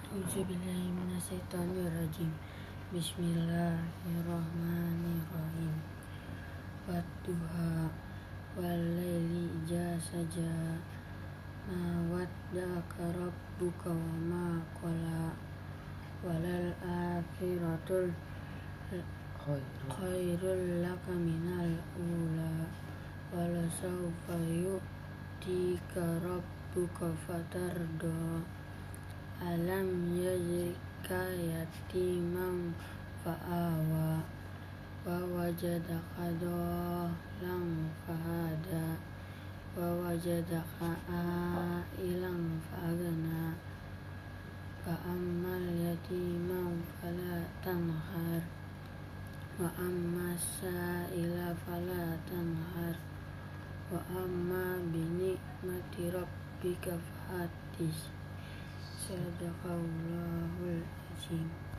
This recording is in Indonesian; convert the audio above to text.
A'udzubillahi minasyaitonirrajim. Bismillahirrahmanirrahim. Wadduha walaili idza saja ma wadda'aka rabbuka wa ma qala walal akhiratul khairul laka minal ula walasawfa yu'tika rabbuka fatarda alam yajidka yatiman fa'awa wa wajadaka dhalan fahada wa wajadaka a'ilan fa'agna fa'ammal yatima fala tanhar wa amma sa'ila fala tanhar wa amma binikmati rabbika fahaddits. Sadaqallahul azim.